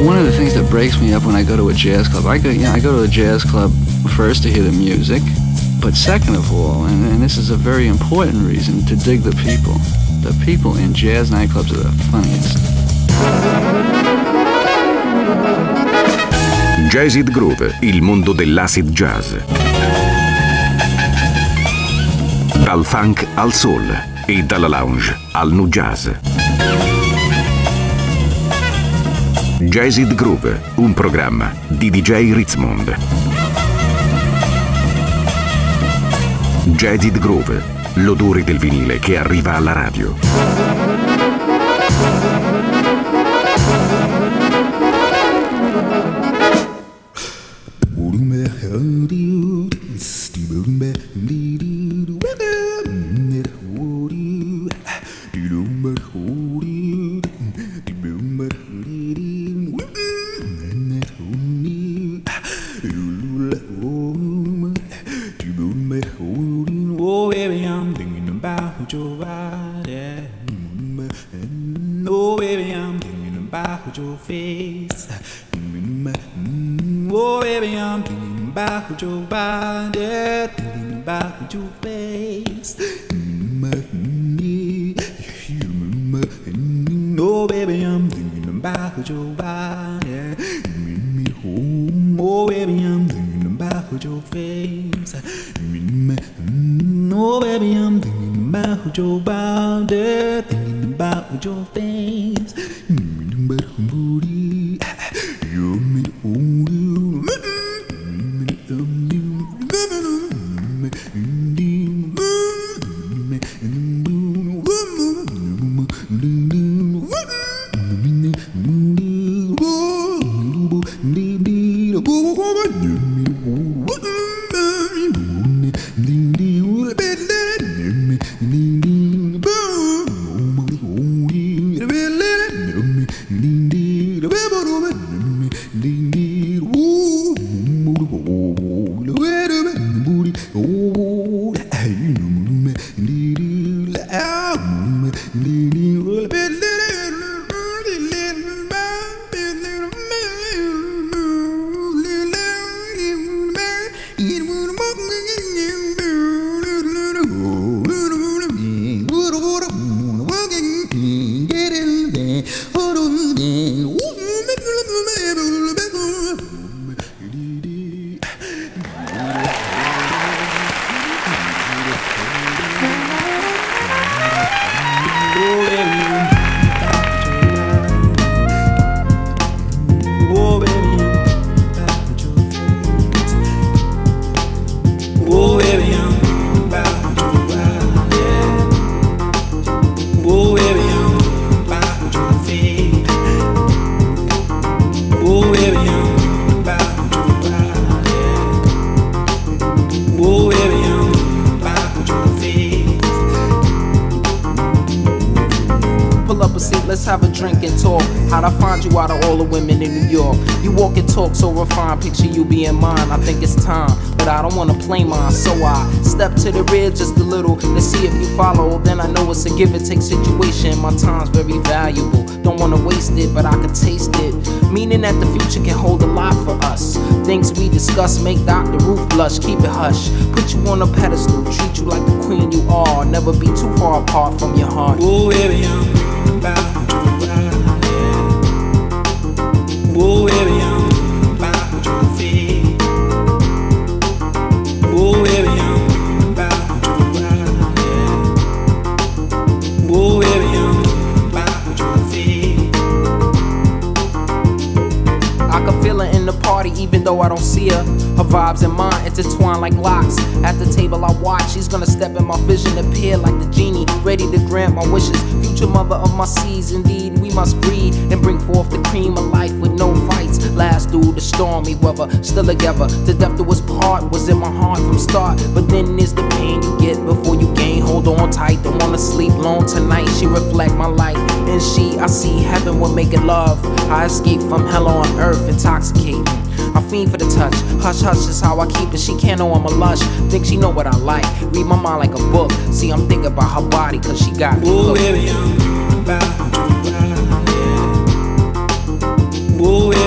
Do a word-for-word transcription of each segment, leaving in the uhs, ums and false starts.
One of the things that breaks me up when I go to a jazz club, I go, you know, I go to a jazz club first to hear the music, but second of all, and, and this is a very important reason, to dig the people. The people in jazz nightclubs are the funniest. Jazzid Groove, il mondo dell'acid jazz. Dal funk al soul e dalla lounge al nu jazz. Jazzid Groove, un programma di D J Ritzmond. Jazzid Groove, l'odore del vinile che arriva alla radio. Picture you being mine, I think it's time, but I don't wanna play mine, so I step to the rear just a little to see if you follow. Then I know it's a give and take situation. My time's very valuable, don't wanna waste it, but I can taste it. Meaning that the future can hold a lot for us. Things we discuss make Doctor Ruth blush. Keep it hush, put you on a pedestal, treat you like the queen you are. Never be too far apart from your heart. Oh baby, I'm about to ride. Oh baby, I'm oh baby, I'm about to ride. Oh baby, I'm about to feel. I can feel her in the party even though I don't see her. Her vibes and mine intertwine like locks. At the table I watch, she's gonna step in my vision, appear like the genie, ready to grant my wishes. Future mother of my seeds, indeed we must breed and bring forth the cream of life with no fights. Last through the stormy weather, still together. The depth of us part was in my heart from start. But then there's the pain you get before you gain. Hold on tight, don't wanna sleep long tonight. She reflect my light, and she, I see heaven when making love. I escape from hell on earth, intoxicating. I fiend for the touch, hush hush is how I keep it. She can't know I'm a lush, think she know what I like. Read my mind like a book, see I'm thinking about her body cause she got me hooked. Oh baby, I'm about to ride. Oh baby,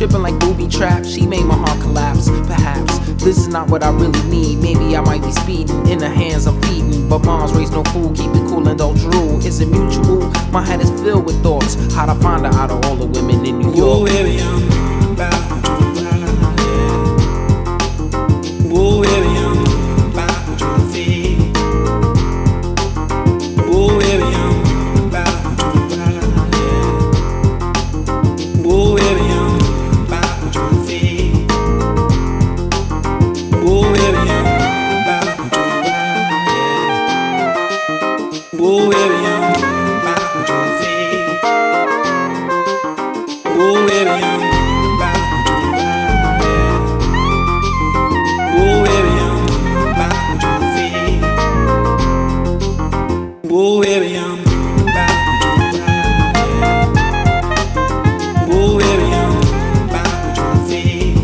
tripping like booby traps. She made my heart collapse. Perhaps this is not what I really need. Maybe I might be speeding in the hands I'm feeding. But moms raise no fool, keep it cool and don't drool. Is it mutual? My head is filled with thoughts. How'd I find her out of all the women in New York? Oh, baby, I'm about to ride, yeah. Oh, baby, I'm about to feel. Oh, baby, I'm about to ride, yeah. Oh, baby, I'm about to feel. Oh, baby, I'm about to ride, yeah. Oh, baby, I'm about to feel. Oh, baby, I'm about to ride, yeah. Oh, baby, I'm about to feel. Oh, baby, I'm about to ride, yeah. Oh, baby, I'm about to feel.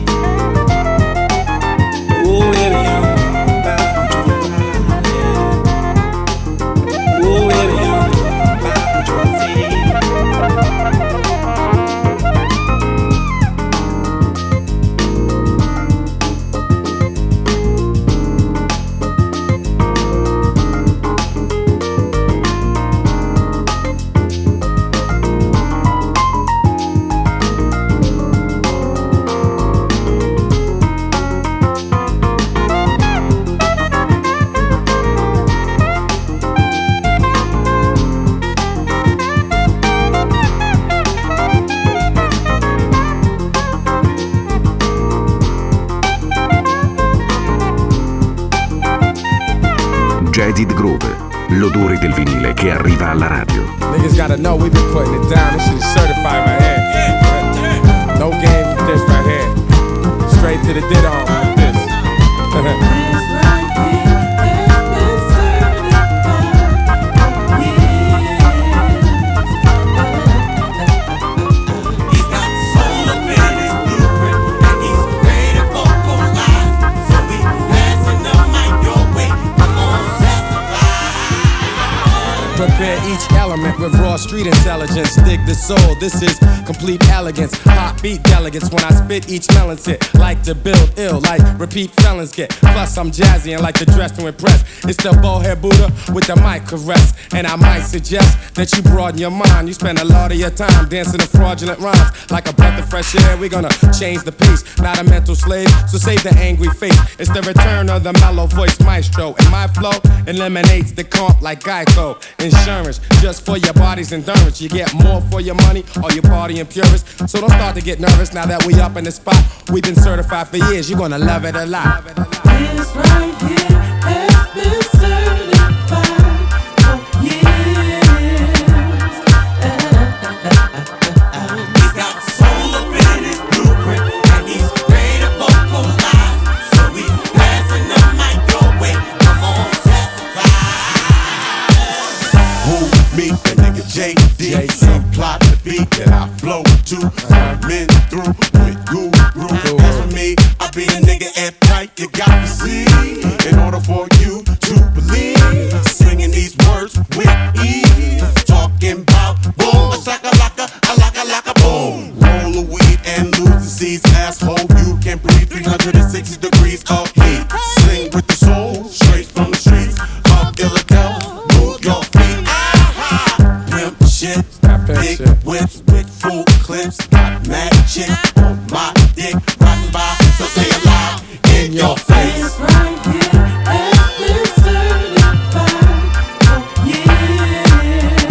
Oh, baby, I'm about to ride, yeah. Oh, baby, I'm about to feel. Jaded Groove, l'odore del vinile che arriva alla radio. Niggas gotta know we been putting it down. This shit is certified right here. No games with this right here. Straight to the did on with this. Prepare each element with raw street intelligence. Dig the soul, this is complete elegance. Hot beat delegates when I spit each melon's hit. Like to build ill, like repeat felons get. Plus I'm jazzy and like to dress to impress. It's the bowhead Buddha with the mic caress. And I might suggest that you broaden your mind. You spend a lot of your time dancing to fraudulent rhymes. Like a breath of fresh air, we're gonna change the pace. Not a mental slave, so save the angry face. It's the return of the mellow voice maestro. And my flow eliminates the comp like Geico. Insurance, just for your body's endurance. You get more for your money, or you partying purists. So don't start to get nervous now that we up in the spot. We've been certified for years, you're gonna love it a lot. This right here has been certified for years. He's got soul up in his blueprint, and he's ready to vocalize. So we passing the mic your way. Come on, testify. Who, me, that nigga J D, subplot the beat that I flow to. I'm in through with guru. As for me, I be the nigga at tight. You got to see, in order for you to believe, singing these words with ease, talking about boom, a shaka laka, a laka laka boom. Roll a weed and lose the seeds, asshole. You can breathe three hundred sixty degrees of heat. Sing with the soul, straight from the streets of Philadelphia. Move your feet. Pimp shit, big whips with full clips. Got mad shit on my dick, riding by, so say it loud in your face. This right here has been certified for years.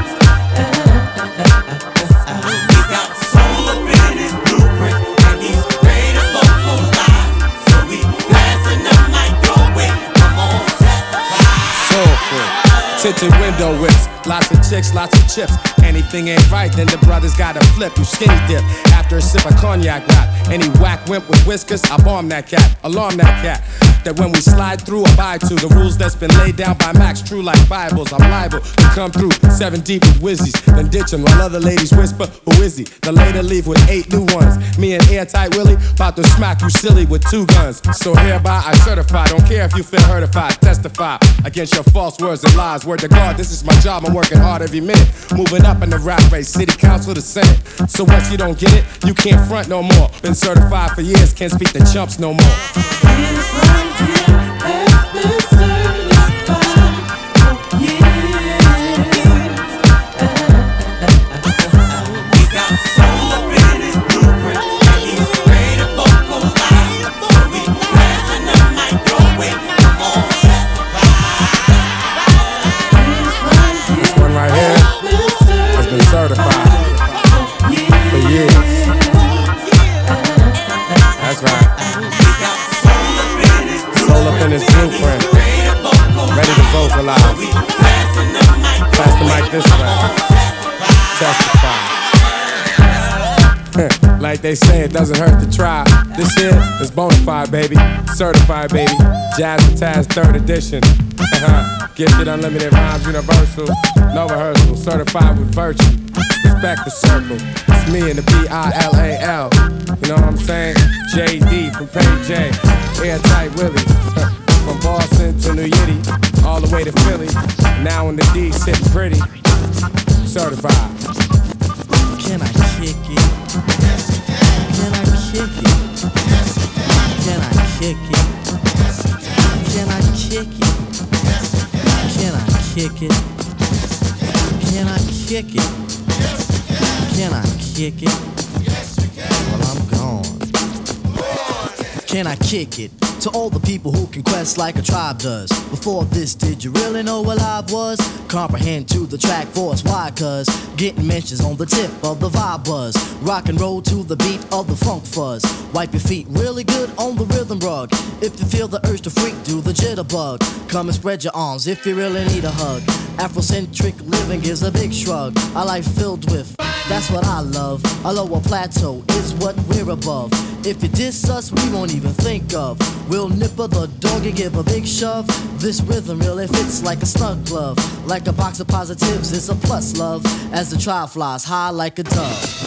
He's got soul up in his blueprint, and he's ready to vocalize. So we passing the mic your way. Come on, testify. Soulful, tinted window whips. Lots of chicks, lots of chips. Anything ain't right, then the brothers gotta flip. You skinny dip after a sip of cognac rap. Any whack wimp with whiskers, I bomb that cat, alarm that cat. That when we slide through, abide to the rules that's been laid down by Max. True like Bibles, I'm liable to come through seven deep with whizzies, then ditch 'em while other ladies whisper, who is he? Then later leave with eight new ones. Me and Airtight Willie about to smack you silly with two guns. So hereby I certify, don't care if you feel hurtified. Testify against your false words and lies. Word to God, this just my job, I'm working hard every minute. Moving up in the rap race, city council to senate. So once you don't get it, you can't front no more. Been certified for years, can't speak to chumps no more. This right here has been certified for years. He's got soul up in his blueprint, and he's ready to vocalize. So we passing the mic your way. Come on, This one right here has been certified for years. That's right. Soul up in his blueprint, ready to vocalize. Pass the mic this way. Testify. Like they say, it doesn't hurt to try. This here is bona fide, baby. Certified, baby. Jazzmatazz third edition. Gifted, unlimited rhymes, universal. No rehearsal, certified with virtue. Respect the circle. It's me and the B I L A L. You know what I'm saying? J D from Pay J. Airtight Willie. From Boston to New Yiddy, all the way to Philly. Now in the D, sitting pretty. Certified. Can I kick it? Can I kick it? Can I kick it? Can I kick it? Can I kick it? Can I kick it? Can I kick it? Well, I'm gone. Can I kick it? To all the people who can quest like a tribe does. Before this, did you really know what live was? Comprehend to the track force, why? Cause getting mentions on the tip of the vibe buzz. Rock and roll to the beat of the funk fuzz. Wipe your feet really good on the rhythm rug. If you feel the urge to freak, do the jitterbug. Come and spread your arms if you really need a hug. Afrocentric living is a big shrug. A life filled with, that's what I love. A lower plateau is what we're above. If you diss us, we won't even think of. We'll nipper the dog and give a big shove. This rhythm really fits like a snug glove. Like a box of positives, it's a plus love. As the trial flies high like a dove.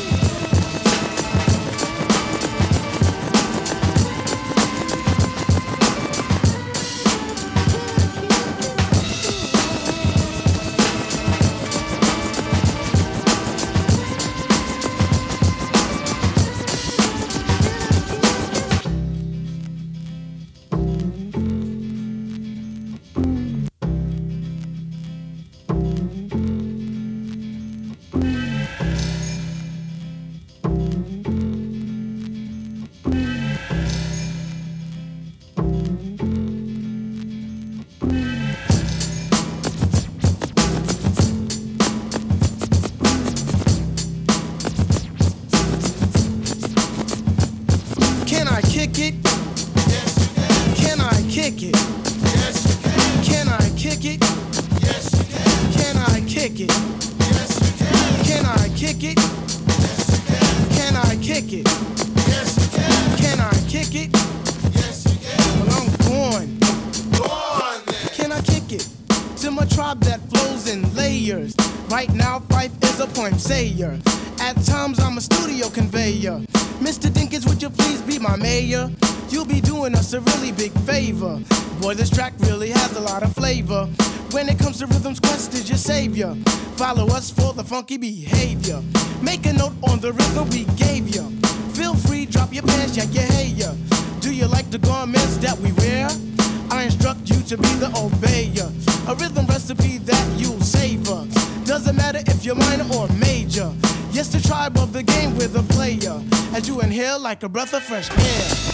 At times I'm a studio conveyor. Mister Dinkins, would you please be my mayor? You'll be doing us a really big favor. Boy, this track really has a lot of flavor. When it comes to rhythms, Quest is your savior. Follow us for the funky behavior. Make a note on the rhythm we gave you. Feel free, drop your pants, yeah, yeah, hey, yeah. Do you like the garments that we wear? I instruct you to be the obeyer. A rhythm recipe that you'll savor. Doesn't matter if you're minor or major. Yes, the tribe of the game with a player. As you inhale like a breath of fresh air.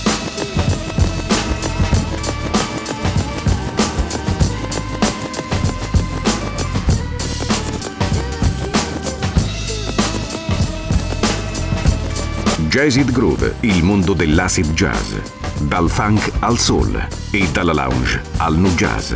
Jazzid Groove, il mondo dell'acid jazz. Dal funk al soul e dalla lounge al nu jazz.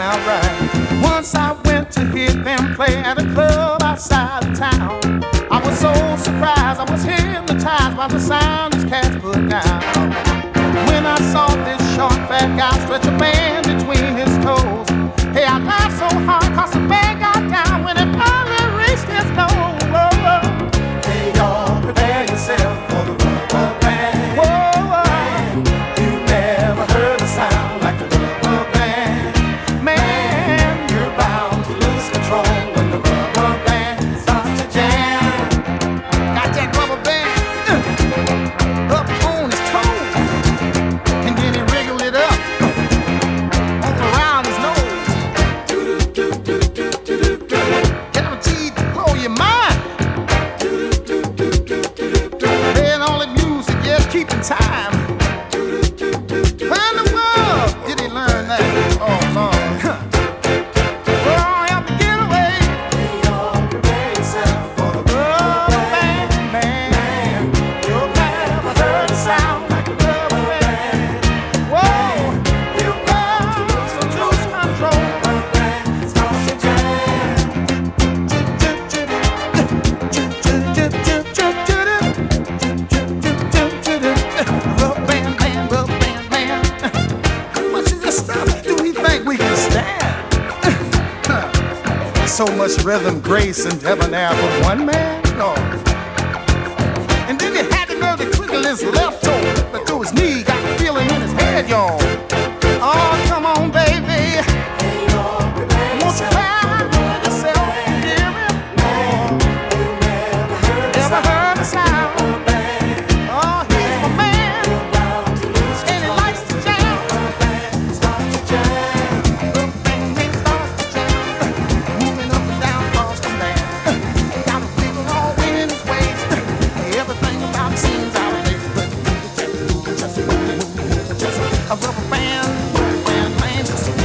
sound right. Once I went to hear them play at a club outside of town. I was so surprised, I was hypnotized by the sound these cats put down. When I saw this short fat guy stretch a band between his toes, hey, I laughed so hard cause the band got down when it finally reached his nose. Hey y'all, prepare yourself for the rubber band. Whoa, whoa. You never heard a sound like the rubber band. Man, you're bound to lose control when the rubber band starts to jam. Got that rubber band uh, up on his toes, and then he wriggled it up all around his nose. Guaranteed to blow your mind. Playing all the music, yeah, keeping time. Where in the world did he learn that? Oh, Lord. Oh, help me get away. Prepare yourself for the rubber band, man. You'll never heard a sound like a rubber band. Whoa, you got to lose control. Starts to jam. Rubber band man, rubber band man. How much of this stuff do we think we can stand? So much rhythm, grace, and debonair for one man? No. And then he had the nerve to twinkle his left toe, but through his knee, got the feeling in his head, y'all. Oh, come on, baby. Won't you cry yourself, hear me? Never heard a sound. Oh, he's my man, and he likes to jam. Rubber band starts to jam, moving up and down across the land. Got a wiggle all in his waist. Everything about him seems out of place, but just a rubber band, rubber band man, just a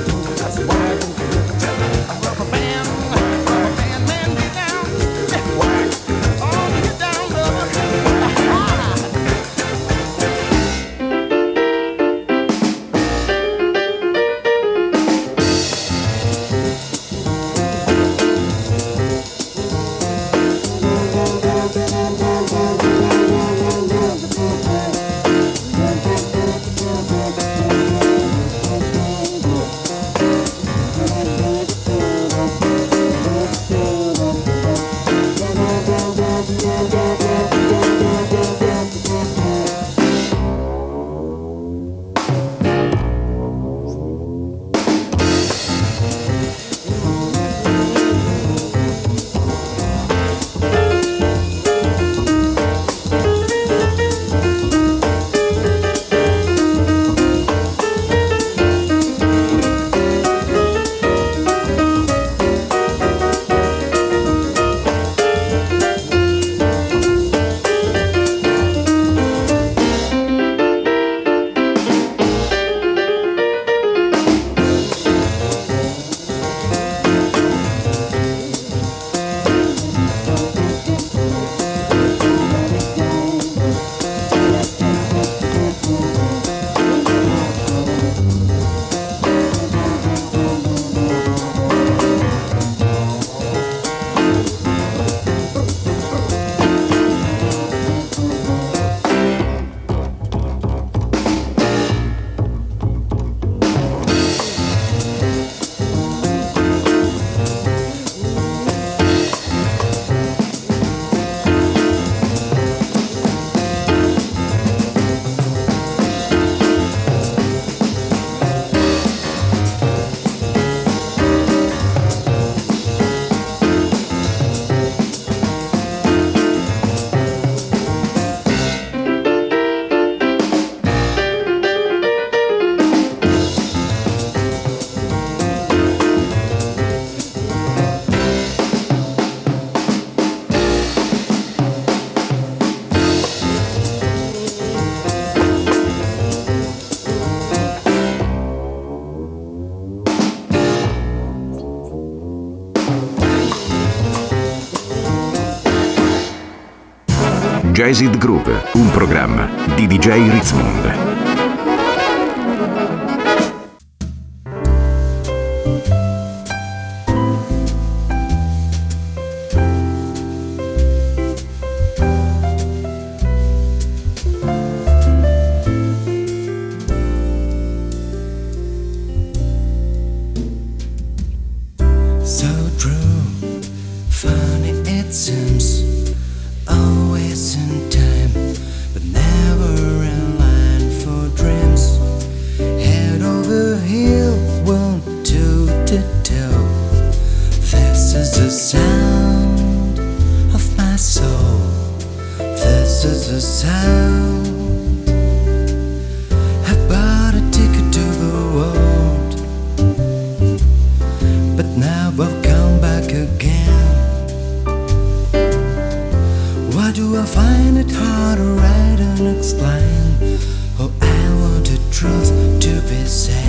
rubber band, rubber band man, get down, oh, get down, lover. Jazzed Groove, un programma di D J Ritzmond. the sound of my soul. This is the sound. I bought a ticket to the world, but now I've come back again. Why do I find it hard to write and explain? Oh, I want the truth to be said.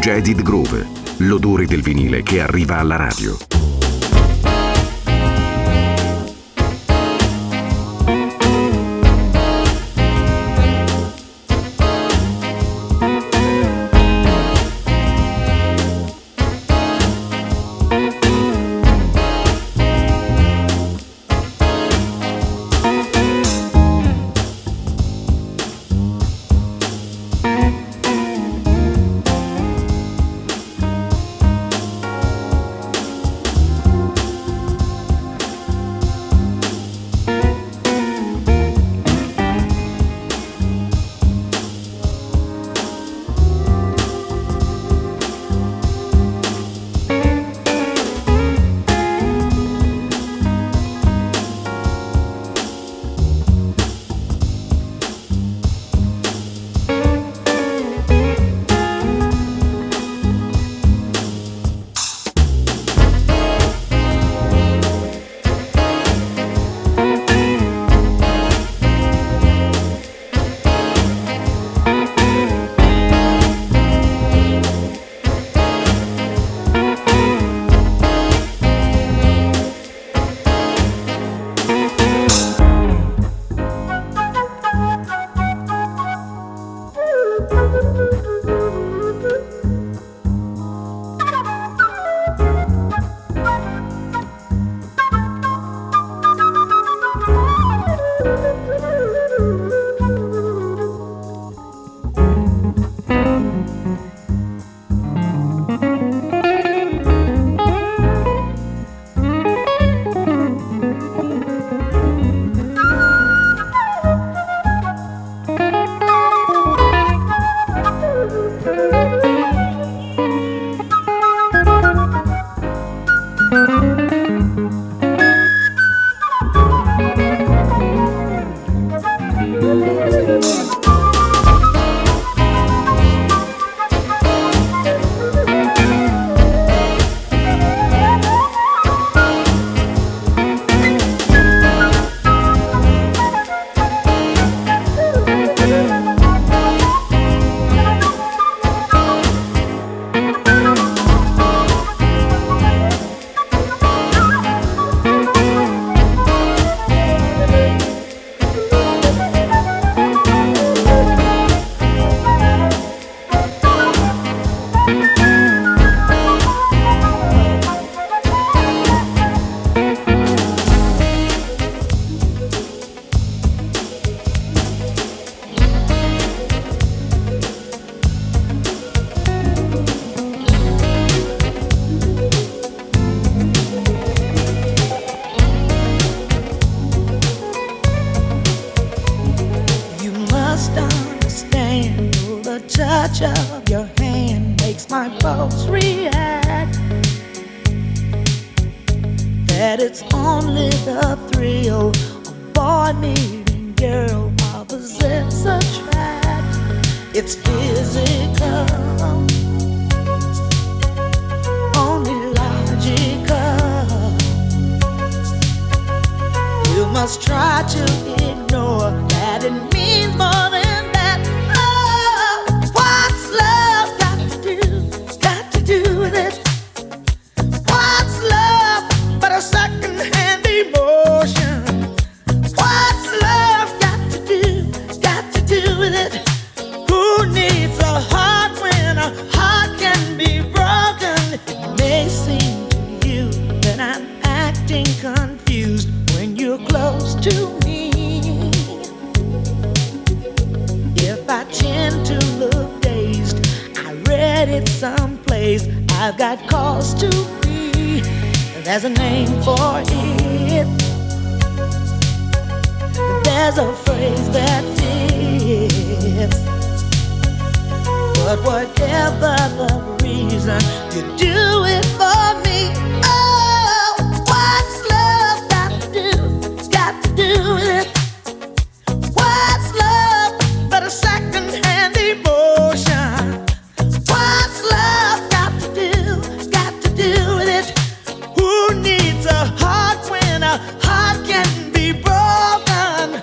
Jazzed Groove, l'odore del vinile che arriva alla radio. of your hand makes my pulse react. That it's only the thrill of boy meeting girl opposites attract. It's physical, only logical. You must try to ignore that it means more than that. Oh, what's love got to do, got to do with it? What's love but a second-hand emotion? What's love got to do, got to do with it? Who needs a heart when a heart can be broken? It may seem to you that I'm acting confused when you're close to me. If I tend to look dazed, I read it someplace, I've got cause to be. There's a name for it. There's a phrase that fits. But whatever the reason, you do it for me. Oh, what's love got to do, got to do with it? What's love but a second-hand emotion? What's love got to do, got to do with it? Who needs a heart when a heart can be broken?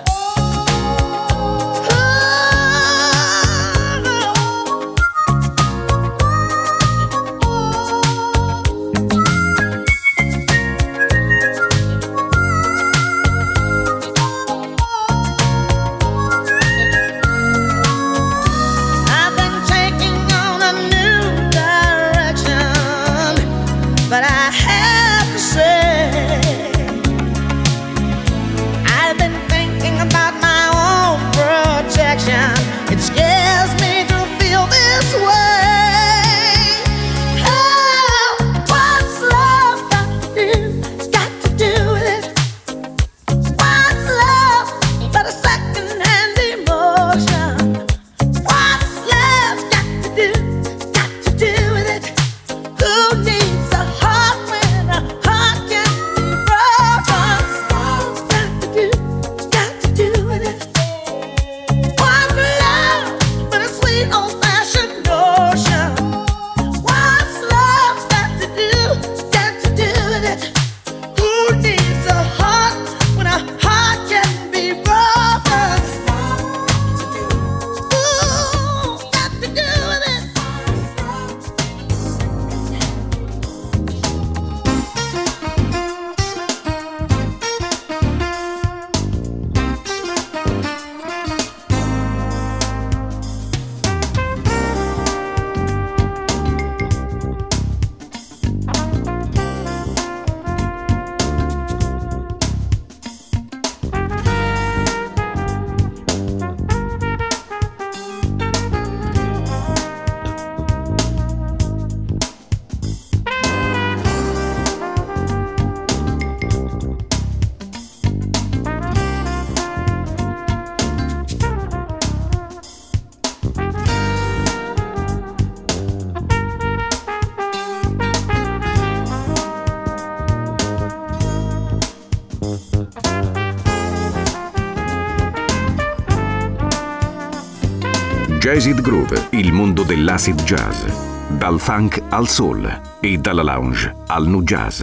Jazzid Groove, il mondo dell'acid jazz. Dal funk al soul e dalla lounge al nu jazz.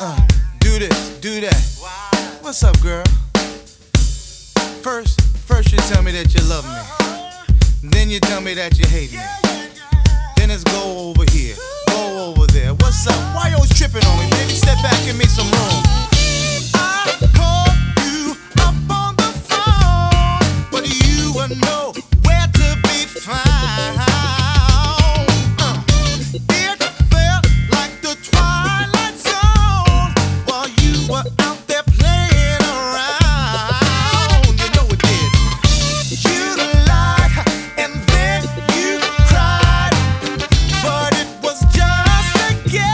Uh, do this, do that. What's up, girl? First, first you tell me that you love me. Then you tell me that you hate me. Then it's go over here, go over there. What's up? Why you always tripping on me, baby? Step back, give me some room. I called you up on the phone, but you were nowhere to be found. Uh, it felt like the twilight zone while you were out there playing around. You know it did. You lied and then you cried, but it was just a game.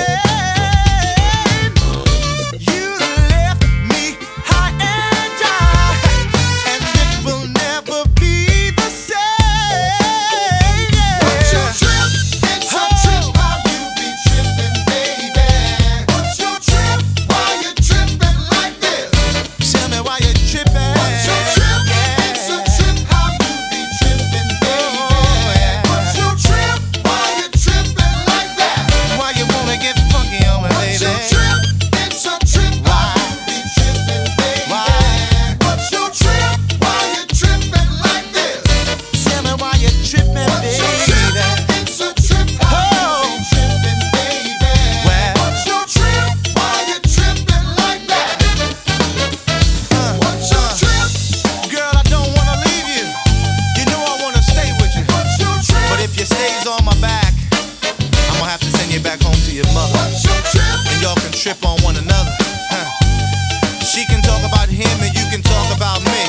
You left me high and dry, and it will never be the same. What's your trip? It's a trip. How you be tripping, baby? What's your trip? Why you tripping like this? Tell me why you tripping. What's your trip? It's a trip. How you be tripping, baby? What's your trip? Why you tripping like that? Why you wanna get funky on me, baby? What's your trip? It's a trip. How you be tripping, baby? What's your trip? Why you tripping like this? Tell me why you tripping, baby? It's a trip. How you be tripping, baby? What's your trip? Why you tripping like that? What's your trip? Girl, I don't wanna leave you. You know I wanna stay with you. What's your trip? But if you stays on my back, I'm gonna have to send you back home to your mother. What's your trip? And y'all can trip on one another. Huh. She can talk about him and you can talk about me.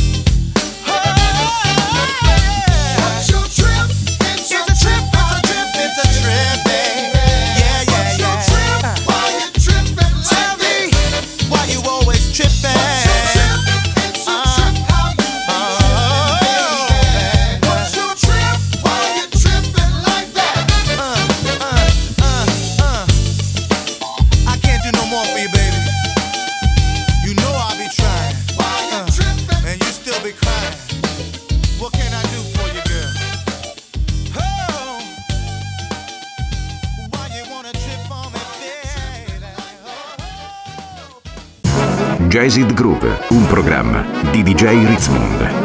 What's your trip? It's a trip, it's a trip, it's a trip, baby. Yeah, yeah, yeah. What's your trip? Why you tripping like Tell me, why you always tripping? What's your trip? It's a trip, how you be tripping, baby? What's your trip? Why you tripping like that? Uh, uh, uh, uh. I can't do no more for you, baby. You know I'll be trying. Why you tripping? And you still be crying. What can I do for you, girl? Oh, why you wanna trip on me, baby? Jazzed Groove, un programma di D J Ritzmond.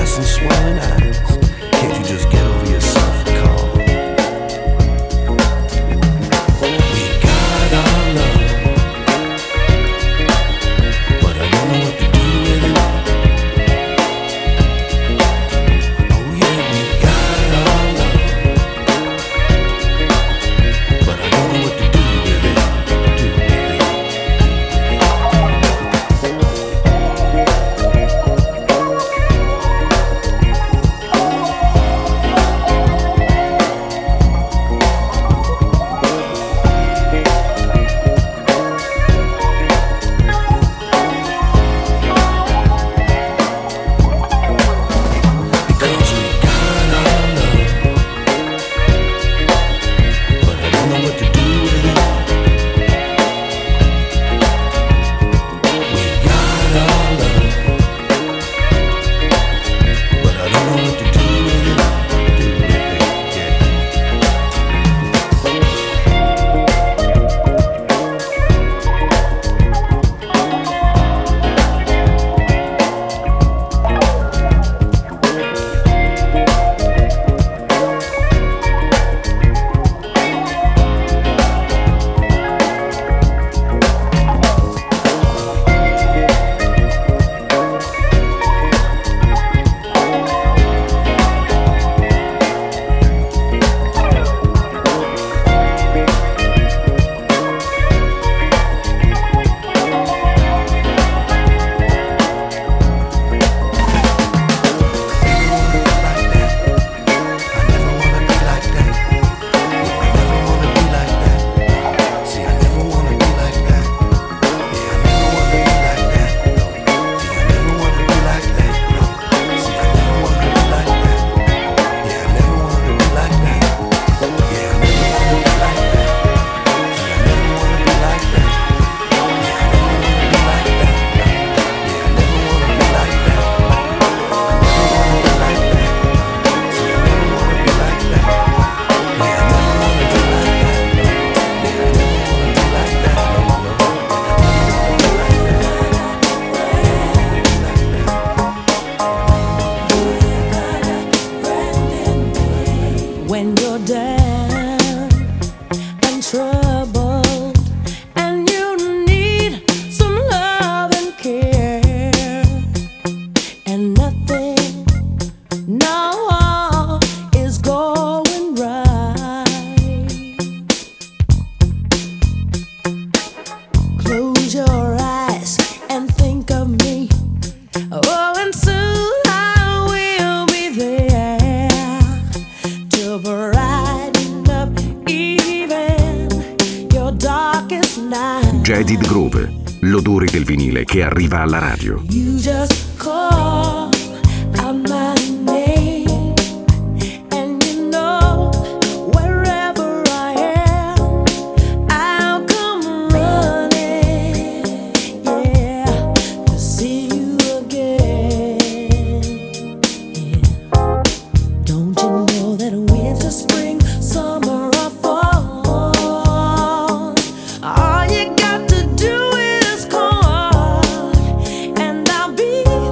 glass and swelling eyes. Can't you just get over yourself and call? We got our love, but I don't know what to do with it. Oh yeah, we got our love, but I don't know what to do with it. Do with it. When you're down and troubled and you need some love and care, and nothing, no, is going right. Close your eyes and think of me. Oh, and soon I will be there to brighten up even your darkest night. Jaded Groove, l'odore del vinile che arriva alla radio. You just call out my name, and you know wherever I am, I'll come running, yeah, to see you again. Yeah. Don't you know that winter, spring, summer, or fall, all you got to do is call, and I'll be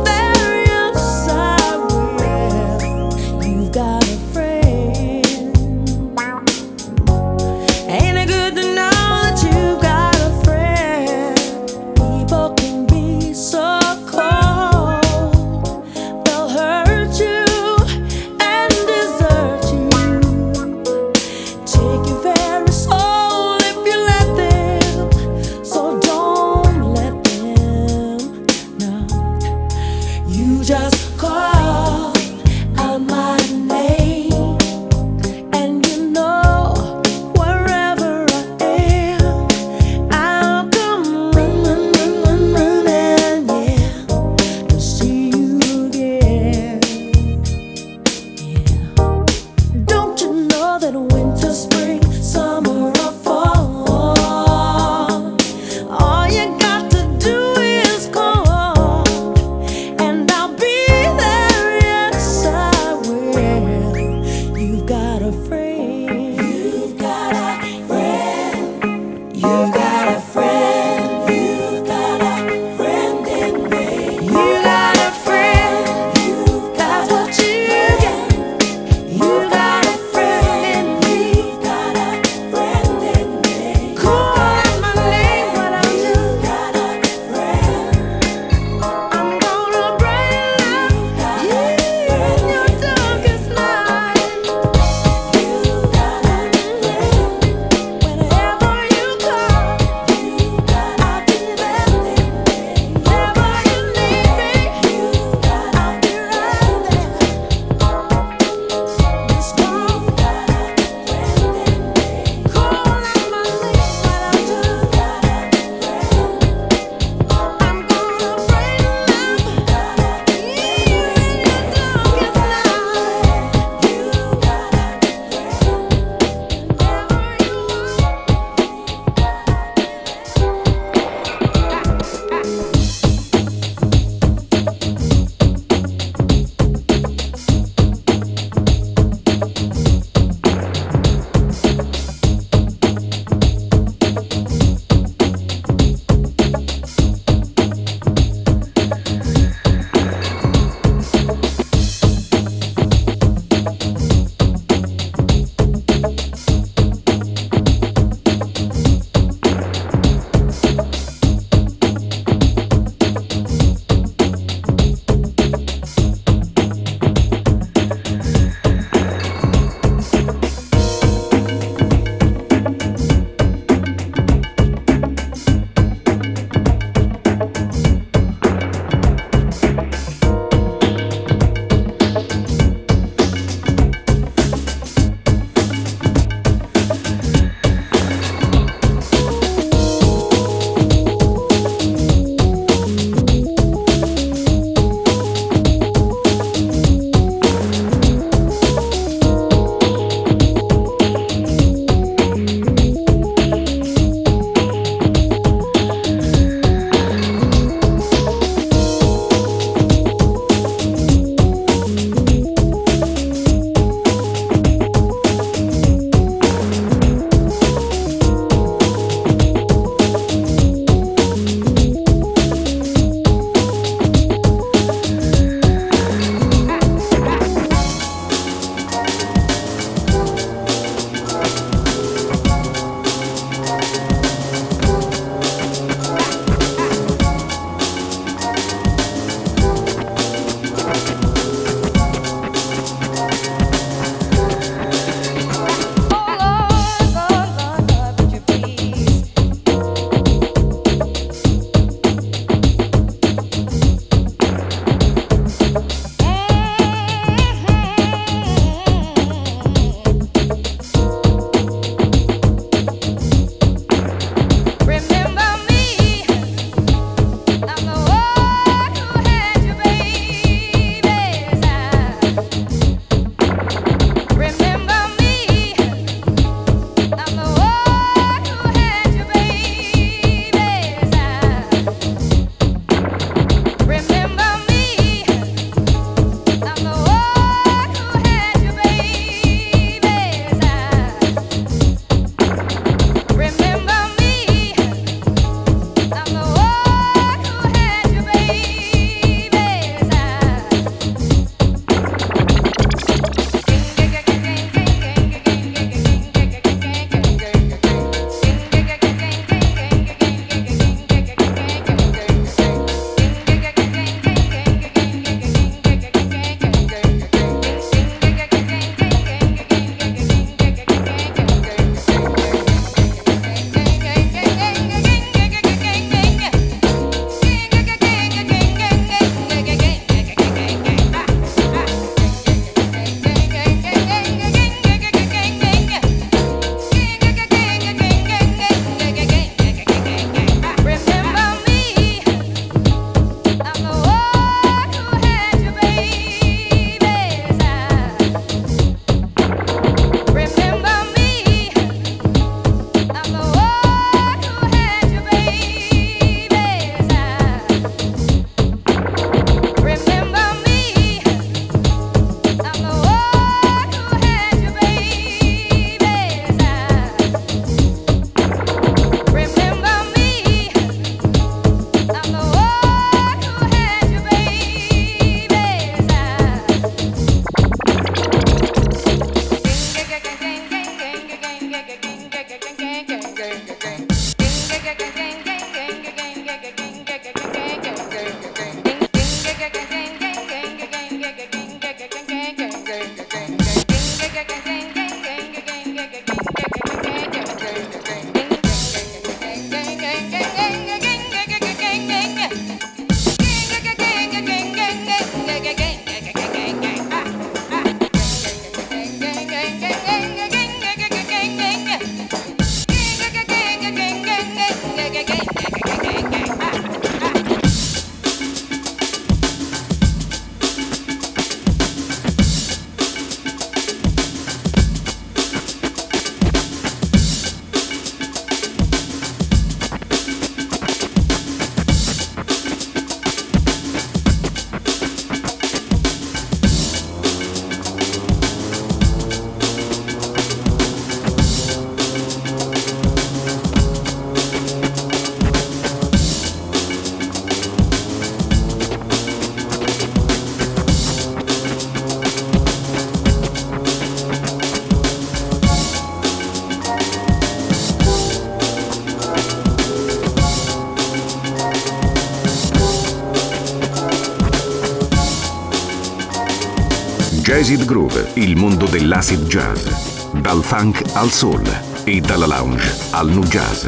Acid Groove, il mondo dell'acid jazz. Dal funk al soul e dalla lounge al nu jazz.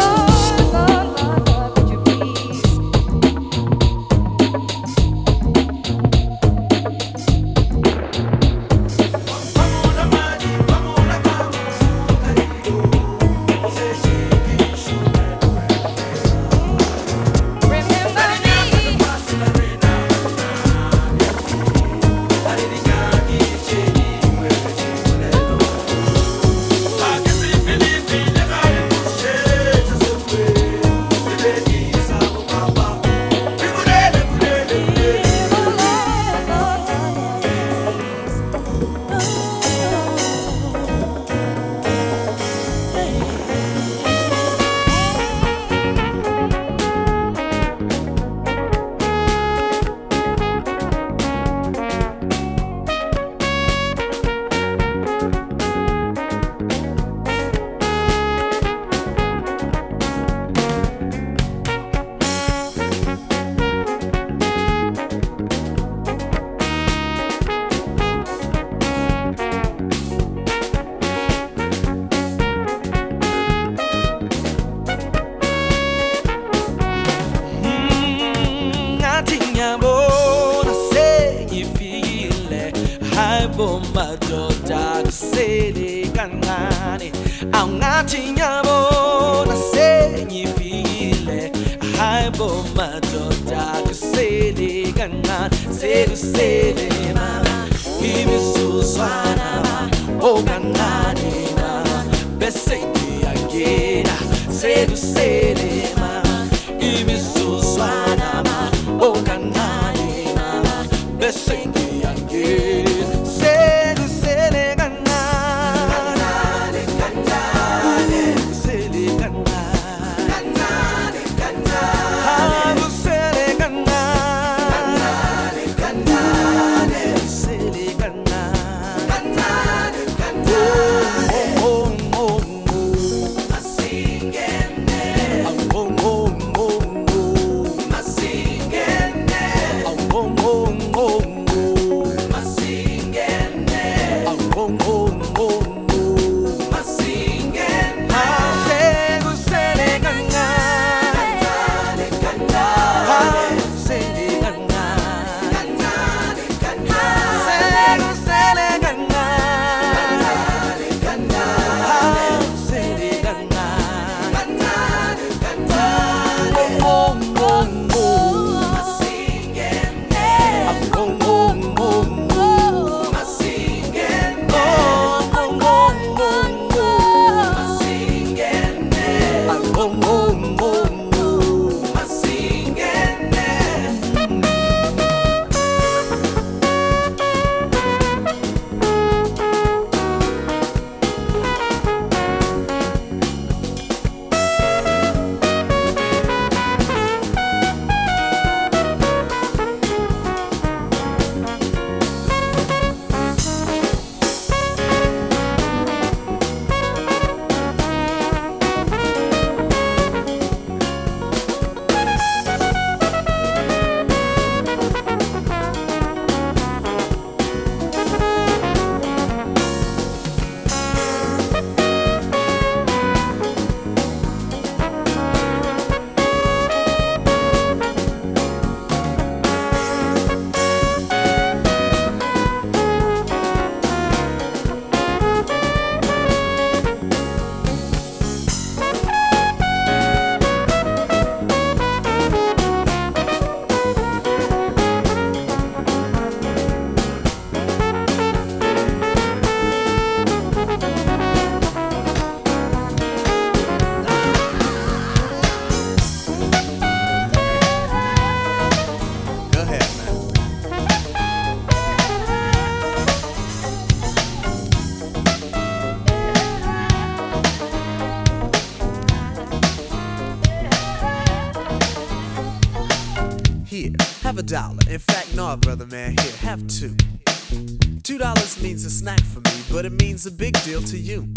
a dollar. In fact, no, brother man, here, have two. Two dollars means a snack for me, but it means a big deal to you.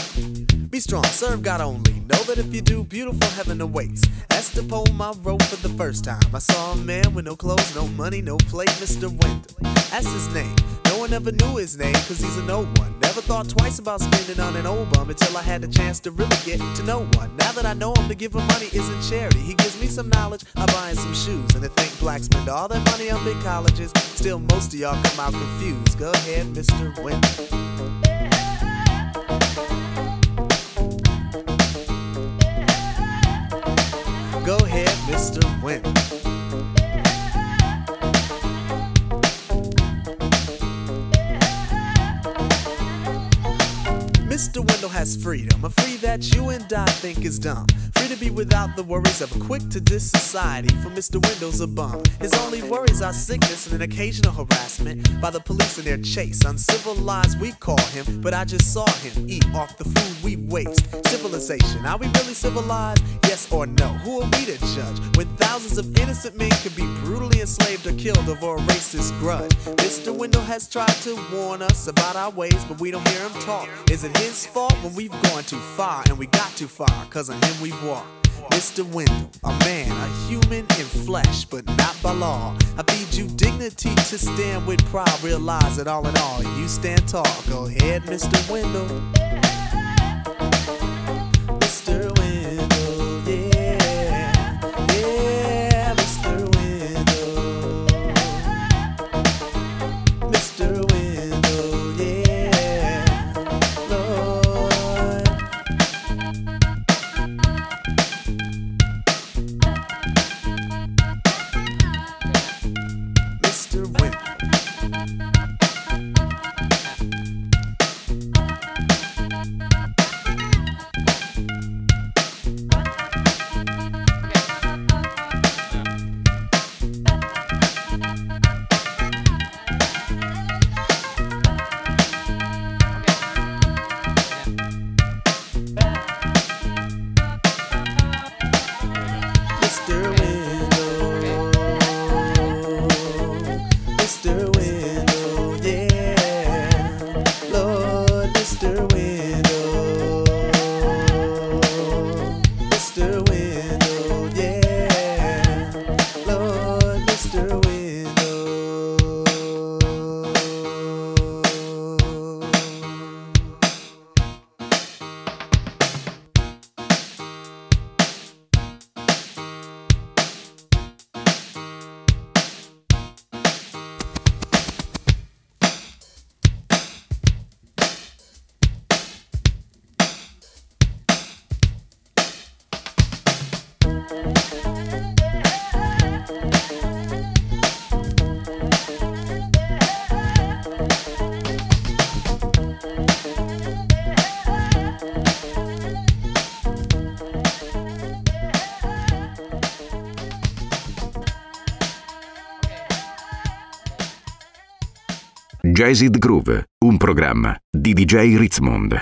Be strong, serve God only. Know that if you do, beautiful heaven awaits. That's the poem I wrote for the first time. I saw a man with no clothes, no money, no plate, Mister Wendell. That's his name. No one ever knew his name, cause he's an old one. Never thought twice about spending on an old bum until I had the chance to really get to know one. Now that I know him, to give him money isn't charity. He gives me some knowledge, I buy him some shoes. And to think blacks spend all their money on big colleges, still most of y'all come out confused. Go ahead, Mister Wendell. Go ahead, Mister Wendell. Mister Wendell has freedom, a free that you and I think is dumb. Free to be without the worries of a quick-to-diss society, for Mister Wendell's a bum. His only worries are sickness and an occasional harassment by the police in their chase. Uncivilized we call him, but I just saw him eat off the food we waste. Civilization, are we really civilized? Yes or no? Who are we to judge when thousands of innocent men could be brutally enslaved or killed over a racist grudge? Mister Wendell has tried to warn us about our ways, but we don't hear him talk. Is it his fault when we've gone too far and we got too far? Cause on him we've walked. Mister Wendell, a man, a human in flesh, but not by law. I feed you dignity to stand with pride. Realize that all in all, you stand tall. Go ahead, Mister Wendell. Mister Wendell, yeah, yeah, Mister Wendell. Mister Wendell, yeah, Lord. Mister Wendell. Mister Wendell, Mister Wendell, yeah, Lord, Mister Wendell, Mister Wendell, yeah, Lord, Mister Wendell. Jazzed Groove, un programma di D J Ritzmond.